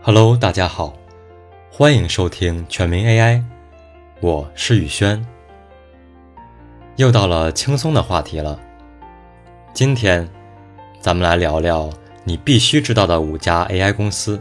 Hello， 大家好，欢迎收听全民 AI， 我是宇轩。又到了轻松的话题了，今天咱们来聊聊你必须知道的5家 AI 公司。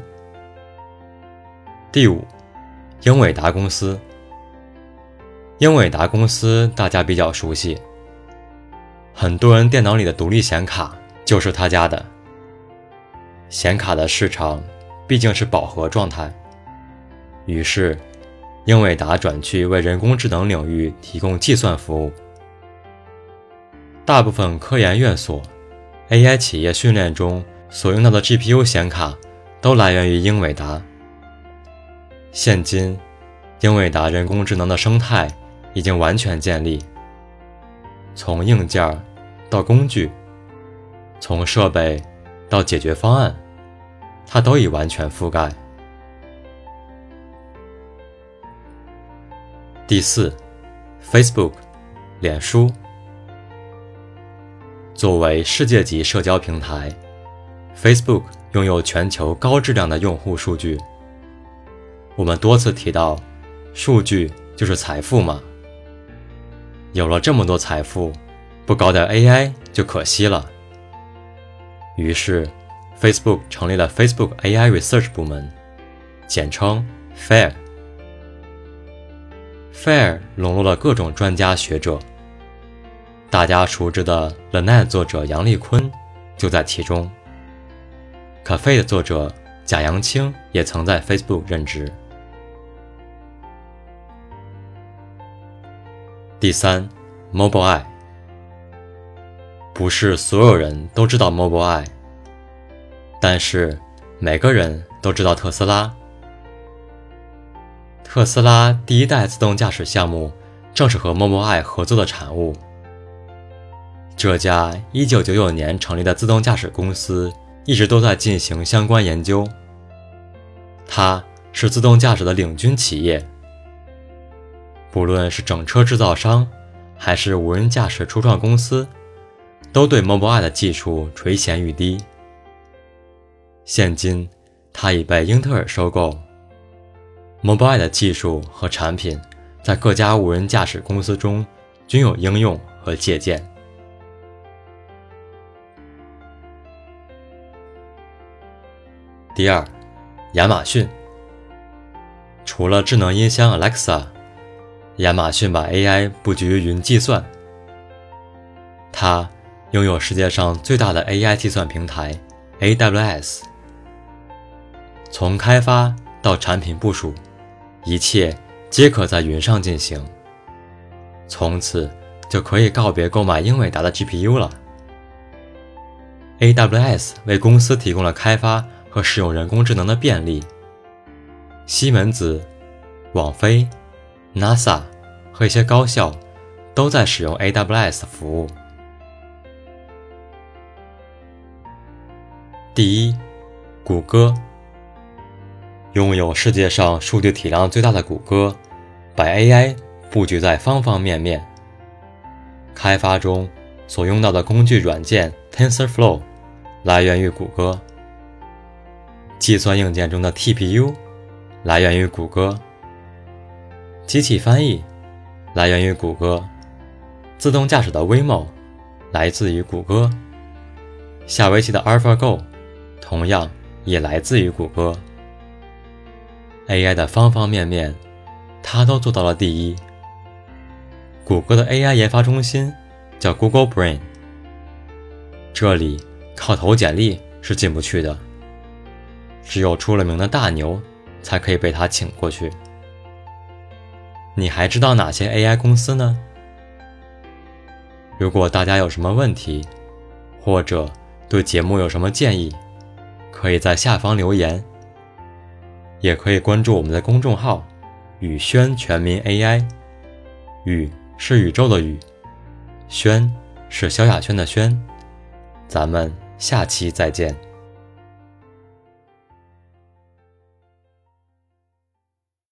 第5，英伟达公司。英伟达公司大家比较熟悉，很多人电脑里的独立显卡就是他家的。显卡的市场毕竟是饱和状态，于是英伟达转去为人工智能领域提供计算服务。大部分科研院所、AI 企业训练中所用到的 GPU 显卡都来源于英伟达。现今，英伟达人工智能的生态已经完全建立，从硬件到工具，从设备到解决方案，它都已完全覆盖。第4， Facebook 脸书。作为世界级社交平台， Facebook 拥有全球高质量的用户数据。我们多次提到，数据就是财富嘛。有了这么多财富，不搞点 AI 就可惜了。于是 Facebook 成立了 Facebook AI Research 部门，简称 FAIR。FAIR 笼络了各种专家学者，大家熟知的 The Net 作者杨丽坤就在其中， Caffe 的作者贾扬青也曾在 Facebook 任职。第3， Mobileye。不是所有人都知道 Mobileye， 但是每个人都知道特斯拉。特斯拉第1代自动驾驶项目正是和 Mobileye 合作的产物。这家1999年成立的自动驾驶公司一直都在进行相关研究，它是自动驾驶的领军企业。不论是整车制造商还是无人驾驶初创公司，都对 Mobileye 的技术垂涎欲滴。现今它已被英特尔收购， Mobileye 的技术和产品在各家无人驾驶公司中均有应用和借鉴。第2，亚马逊。除了智能音箱 Alexa， 亚马逊把 AI 布局于云计算。它拥有世界上最大的 AI 计算平台 AWS， 从开发到产品部署，一切皆可在云上进行。从此就可以告别购买英伟达的 GPU 了。AWS 为公司提供了开发和使用人工智能的便利。西门子、网飞、NASA 和一些高校都在使用 AWS 服务。第1，谷歌。拥有世界上数据体量最大的谷歌，把 AI 布局在方方面面。开发中所用到的工具软件 TensorFlow 来源于谷歌，计算硬件中的 TPU 来源于谷歌，机器翻译来源于谷歌，自动驾驶的 Waymo 来自于谷歌，下围棋的 AlphaGo 同样也来自于谷歌。AI 的方方面面，它都做到了第1。谷歌的 AI 研发中心叫 Google Brain， 这里靠投简历是进不去的，只有出了名的大牛才可以被他请过去。你还知道哪些 AI 公司呢？如果大家有什么问题，或者对节目有什么建议，可以在下方留言，也可以关注我们的公众号宇轩全民 AI。 宇是宇宙的宇，轩是萧亚轩的轩。咱们下期再见。